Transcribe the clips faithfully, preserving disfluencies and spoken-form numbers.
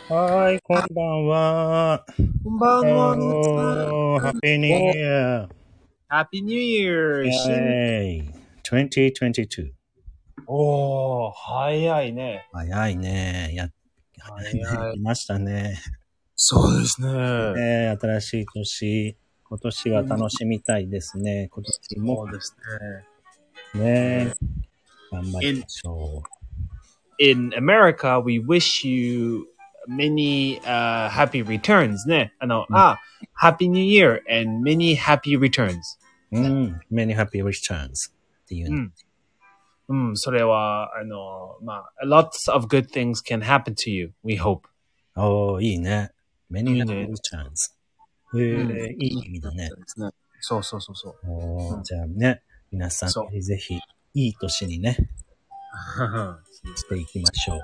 はい、こんばんは。 こんばんは、皆さん。Happy New Year! Happy New Year! 新 Yay! にせんにじゅうに。 おー、早いね。 早いね。や、早いね。来ましたね。 そうですね。 ね、新しい年、今年は楽しみたいですね。今年も。 そうですね。ね、頑張りましょう。In, in America, we wish you many、uh, happy returns ね。あの、うん、あ、Happy New Year and many happy returns。 うん、many happy returns っていうね。 うん、うん、それは、あの、まあ、lots of good things can happen to you, we hope。 おー、いいね。many happy returns。へえ、うん、いい意味だね。 そうそうそうそう。 おー、うん、じゃあね、皆さんぜひぜひ、いい年にね、していきましょ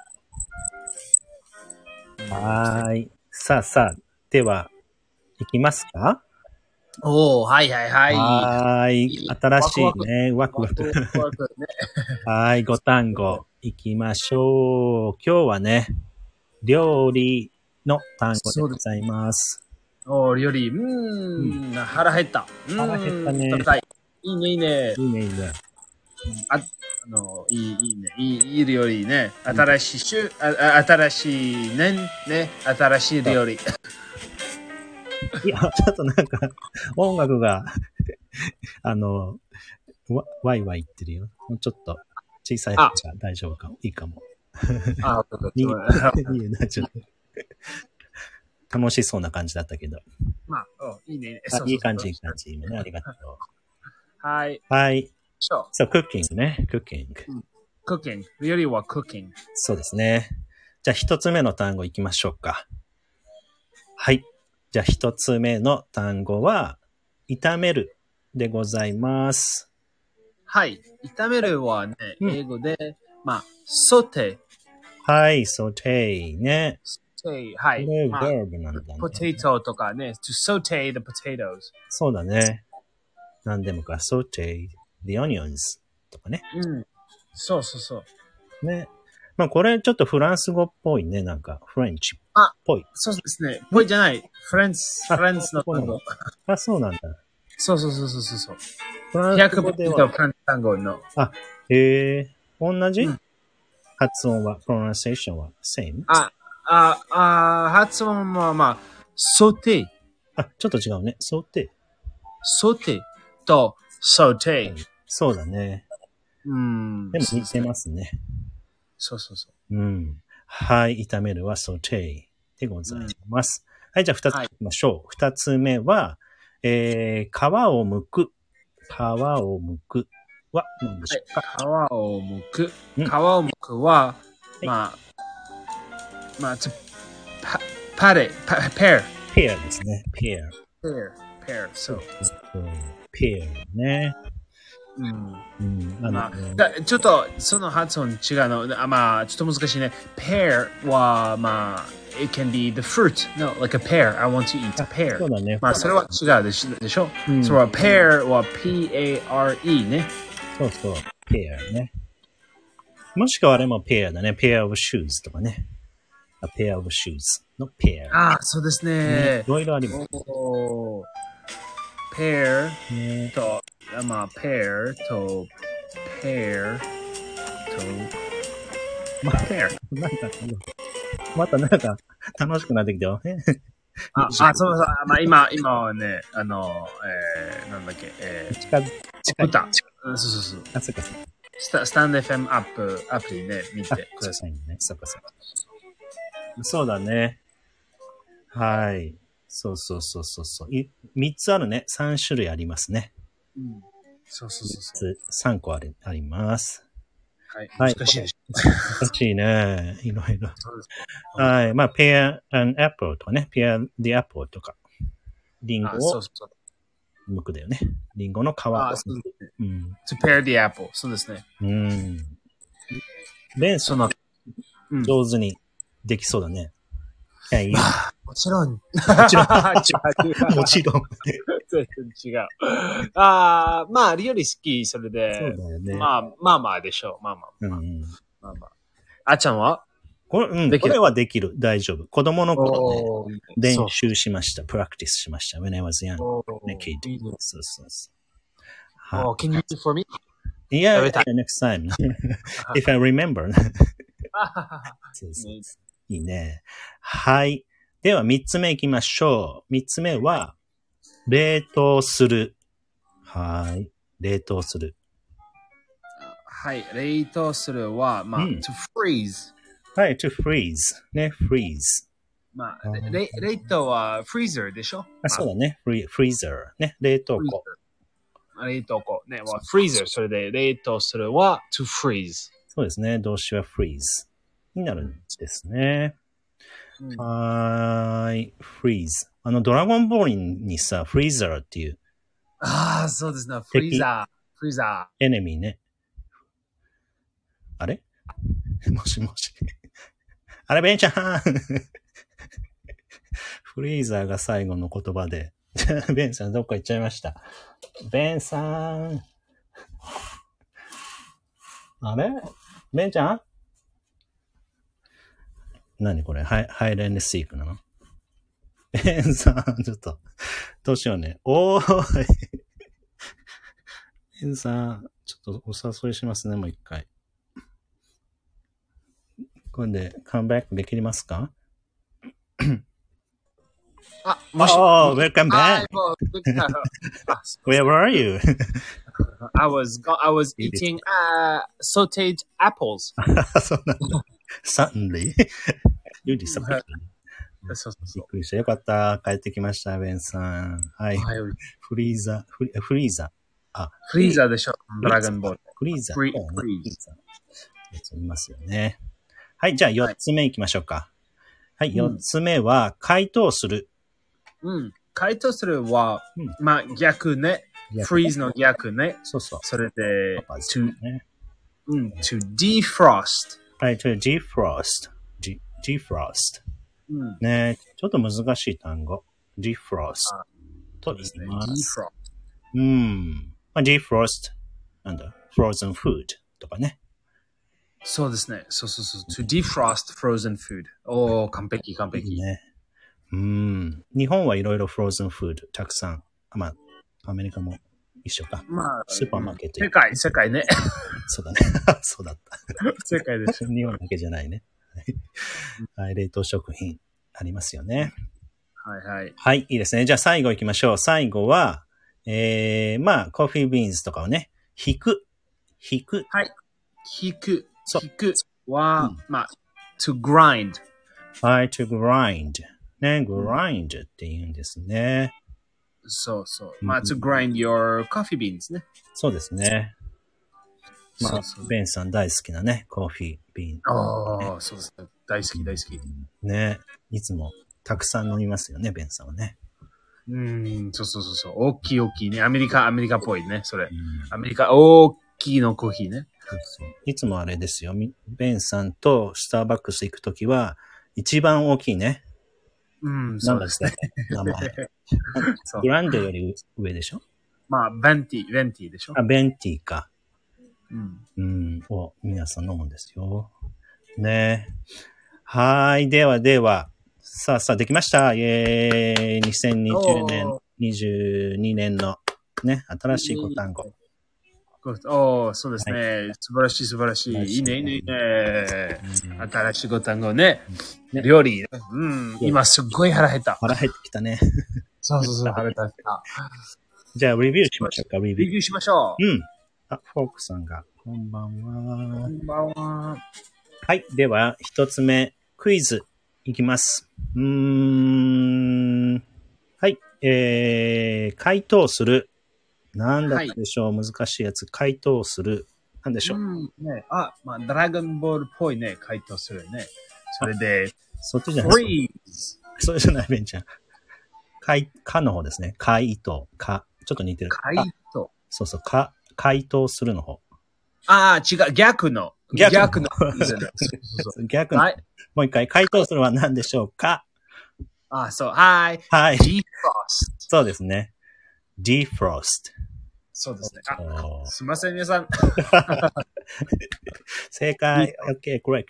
う。はーい。さあさあ、では、いきますか？ おー、はいはいはい。 はーい。新しいね、ワクワク。はい、ご単語、いきましょう。今日はね、料理の単語でございます。 おー、料理。うーん、うん、腹減った。 腹減ったね。 食べたい。いいね、いいね。 いいね、いいね。 あ、あの、いい、いいね。いい、いい料理ね。新しい週、あ、新しい年、ね。新しい料理。 いや、ちょっとなんか、音楽が、あの、わ、わいわい言ってるよ。もうちょっと、小さい方が大丈夫かも。いいかも。 あ、 いい、いいな、ちょっと。楽しそうな感じだったけど。 まあ、いいね。 あ、いい感じ、いい感じ。ね、ありがとう。 はい。 はい。そう、クッキングね。クッキング。 クッキング。料理はクッキング。 そうですね。じゃあ一つ目の単語いきましょうか。はい。じゃあ一つ目の単語は、炒めるでございます。 はい。炒めるはね、うん、英語で、まあ、ソテー。はい、ソテーね。 ソテー、はい。 これ、バーブなんだね。 ポテトとかね、to saute the potatoes。 そうだね。何でもか、saute the onions とかね。 うん。そうそうそう。 ね。まあこれちょっとフランス語っぽいね。なんか、フレンチっぽい。 あ、そうですね。ぽいじゃない。フランス、フランスの単語。 あ、そうなんだ。 そうそうそうそうそう。 フランス語では。 フランス単語の。 あ、へえ。同じ、うん、発音は、プロナンセーションは、same？ あ、あ、あ、発音はまあ、ソテー。 あ、ちょっと違うね。ソテー。 ソテーとソテー。 そうだね。 うん。 でも似てますね。 そうそうそう。 うん。はい。炒めるはソテーでございます。うん、はい。じゃあ二つ目いきましょう。二、はい、つ目は、えー、皮を剥く。皮を剥くは何でしょうか？ はい、皮を剥く。皮を剥くは、はい、まあ、まあ、パ、パレ、パ、ペア。 ペアですね。ペア。 ペア。ペア。そう。 ペアね。 うん。 うん、 まあ、だちょっとその発音違うの。まあ、ちょっと難しいね。pear は、まあ、it can be the fruit. No, like a pear. I want to eat a pear. そうだね。 まあ、それは違うでしょ。でしょ、うん、それは pear は ピーエーアールイー ね。 そうそう。pear ね。もしくはあれも pear だね。pair of shoes とかね。a pair of shoes の pear。 ああ、そうですね。 いろいろあります。 pear と、まあ、pear と、pear と、 まあ、pear。なんか、またなんか、楽しくなってきたよ。 あ、あ、そうそう。まあ、今、今はね、あの、えー、なんだっけ、えー、 近づ、近い。 歌。そうそうそう。 あ、そっかそっか。 スタ、スタンド エフエム アップ、アプリね、見てくださいね。そっかそっか。そうだね。はい。そうそうそうそうそう。い、三つあるね。三種類ありますね。 うん。そうそうそうそう。三個あり、あります。 はい。難しいでしょ。 難しいね。いろいろ。はい。まあ、pear and apple とかね。pear the apple とか。リンゴを剥くだよね。リンゴの皮を剥く。 うん。to pear the apple。そうですね。 うん。ベンその、上手にできそうだね。はい。 もちろん。もちろん。もちろん。 全然違う。ああ、まあ、料理好き、それで。 そうだよね。 まあ、まあまあでしょう。まあまあ。 うん、 まあまあ。あっちゃんはこれ、うん、これはできる。大丈夫。子供の頃ね、練習しました。プラクティスしました。when I was young. ね、kid. そうそうそう。 はい。Oh, can you do for me? Yeah, yeah, next time. If I remember. そうそう。いいね。はい。では、三つ目行きましょう。三つ目は、冷凍する。はい。冷凍する。 はい。冷凍するは、まあ、うん、to freeze。 はい、to freeze。ね、freeze。 まあ、冷凍は freezer でしょ？ あ、そうだね。freezer。ね、冷凍庫。 冷凍庫。ね、は freezer。それで冷凍するは to freeze。 そうですね。動詞は freeze になるんですね。うん、はーい。freeze。あの、ドラゴンボールにさ、freezer っていう。 ああ、そうですね。フリーザー。フリーザー。エネミーね。あれもしもし。あれ、ベンちゃんフリーザーが最後の言葉で。ベンさんどっか行っちゃいました。ベンさん。あれベンちゃん何これハイ、ハイレンドシークなのベンさん、ちょっと、どうしようね。おーい。ベンさん、ちょっとお誘いしますね、もう一回。これでカムバックできますかあ、もし、 oh, welcome back. Where were you? I was, I was eating uh, sauteed apples. そうなんだ。Suddenly? You disappeared. そうそうそう。 びっくりした。よかった。帰ってきました、ベンさん。はい。はい、フリーザ、フリフリーザ。あ、 フリーザでしょ。ドラゴンボール。 フリーザ。 フリーザ。 フリーザ。いますよね。はい、じゃあ四つ目行きましょうか。はい、四、はい、つ目は、解凍する。 うん。解凍するは、うん、まあ逆ね。フリーズの逆ね。 そうそう。 それで、to, ね、うん、to defrost。 はい、to defrost。G, defrost。うん、ね、ちょっと難しい単語。defrost と言います。defrost。うん。まあ、defrost、なんだ、frozen food とかね。 そうですね。そうそうそう。to defrost frozen food。おー、完璧完璧。 いいね。うん。日本はいろいろフローズンフードたくさん。まあ、アメリカも一緒か。 まあ、 スーパーマーケット。 世界、世界ね。 そうだね。そうだった。 世界です。 日本だけじゃないね。はい。冷凍食品ありますよね。 はいはい。 はい。いいですね。じゃあ最後行きましょう。最後は、えー、まあ、コーヒービーンズとかをね、引く。引く。 はい。引く。引くは、うん、まあ、to grind。 はい、to grind。ね、grind って言うんですね。 そうそう。まあ、to grind your coffee beans ね。 そうですね。まあ、そうそうベンさん大好きなね、コーヒービーン。 ああ、そうですね。大好き大好き。 ね。いつもたくさん飲みますよね、ベンさんはね。 うん、そうそうそうそう。大きい大きいね。アメリカ、アメリカっぽいね、それ。アメリカ、大きいのコーヒーね。 そうそういつもあれですよ。ベンさんとスターバックス行くときは、一番大きいね。 うん、そうですね。 名前。グランドより上でしょまあ、ベンティ、ベンティでしょあ、ベンティか。 うん。 うん。を皆さん飲むんですよ。ね。はい。ではでは。さあさあ、できました。イェーイ。にせんにじゅうねん、にじゅうにねんのね、新しいご単語。 おー、そうですね、はい。素晴らしい素晴らしい。いいね、いいね、いいね。新しいご単語ね。ね料理。うん。今すっごい腹減った。 腹減ってきたね。 そうそうそう、腹減った。 じゃあ、レビューしましょうか、レビュー。 レビューしましょう。 うん。あ、フォークさんが。こんばんは。 こんばんは。 はい。では、一つ目、クイズいきます。うーん。はい。えー、回答する。なんだったでしょう、はい、難しいやつ。回答する。なんでしょう。 うんね、あ、まあ、ドラゴンボールっぽいね、回答するね。それで、 そっちじゃない。それじゃない、ベンちゃん。回、かの方ですね。回答、か。ちょっと似てる。 回答。 そうそう、か、回答するの方。 ああ、違う、逆の。 逆の。 逆の。 逆の。はい、もう一回、回答するは何でしょうか。 あ、そう、はい。 はい。 defrost。 そうですね。defrost。 そうですね。あ、すみません、皆さん。 正解。OK, correct.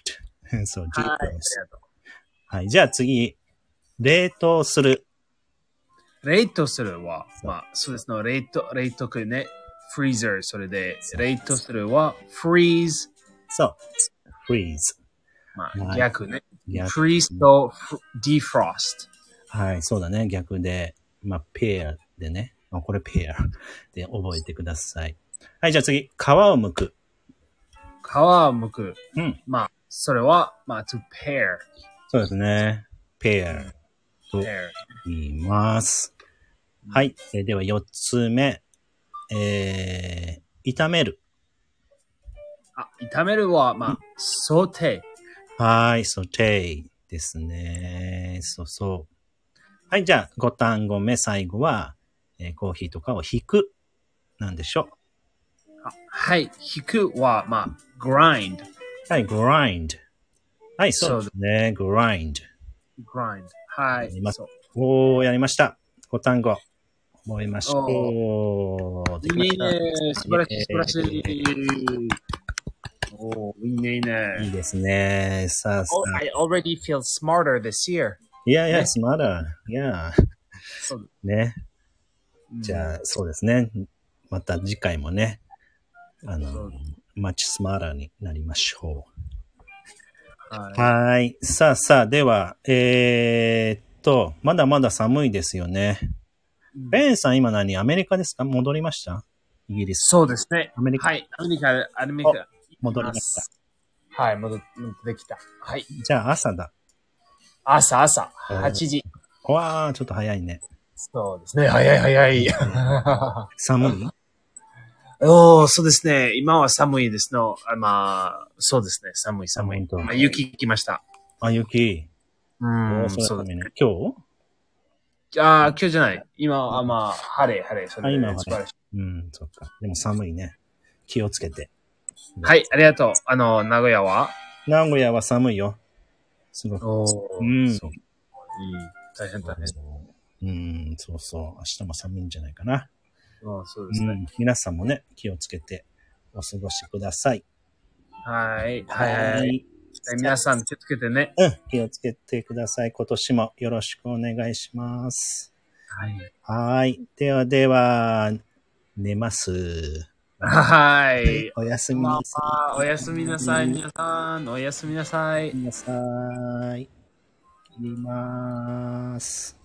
そう、 はい。ありが defrost。 とはい。じゃあ次、冷凍する。 う。冷凍するは、まあ、そうですね。冷凍、冷凍ね。フリーザー、それで、冷凍するは、freeze。 そう。freeze。 まあ、 はい逆ね。 逆 freeze と defrost。 はい、そうだね。逆で、まあ、pear でね。まあ、これ pear で覚えてください。はい、じゃあ次、皮を剥く。 皮を剥く。 うん。 まあ、それは、まあ、to pair。 そうですね。pear と pair。 言います。はい。えーでは四つ目。えー、炒める。 あ、炒めるは、まあ、ソテー。 はい、saute ですね。そうそう。はい、じゃあご単語目、最後は、えーコーヒーとかを引く。なんでしょあはい。引くは、まあ、grind。 う。はい、grind。はい、そうそうですね。grind。 grind。はい。そう。 おー、やりました。ご単語。覚えましおょう。できました。 いいね。素晴らしい、素晴らしい。おー、いいね、いいね。 いいですね。さあさ Oh, あ。 I already feel smarter this year. Yeah, yeah, ね smarter. Yeah. そうね。 うんじゃあ、そうですね。また次回もね、あのそう、 マッチスマーターになりましょう。 はい。 はーい。さあさあ、では、えー、っと、まだまだ寒いですよね。 うんベンさん今何アメリカですか？戻りました？イギリス。 そうですね。 アメリカはい。アメリカ、アメリカ。 戻りました。 はい、戻ってきた。はい。 じゃあ朝だ。 朝、朝、はちじ。 わー、ちょっと早いね。 そうですね。早い早い。 寒い？ おー、そうですね。今は寒いですの。あまあ、そうですね。寒い寒い。 あ本当まあ、雪来ました。 あ、雪。 うおん、 ーそれそうです寒いね。今日ああ、今日じゃない。今はまあ、晴れ、晴れ。そあ、 れ今はねで素晴らしい。。 うん、そっか。でも寒いね。気をつけて。 はい、ありがとう。あの、名古屋は名古屋は寒いよ。すごく。 おうー、 ん。 そう。いい。大変大変。 うん、そうそう。明日も寒いんじゃないかな。 ああ、そうですね。 うん。皆さんもね、気をつけてお過ごしください。 はい、はい、はい。 い。 皆さん気をつけてね。 うん、気をつけてください。今年もよろしくお願いします。 はい。 はい。ではでは、寝ます。 はい。 おやすみなさまあ、おやすみなさい、皆さん。おやすみなさい。 い。なさい。切ります。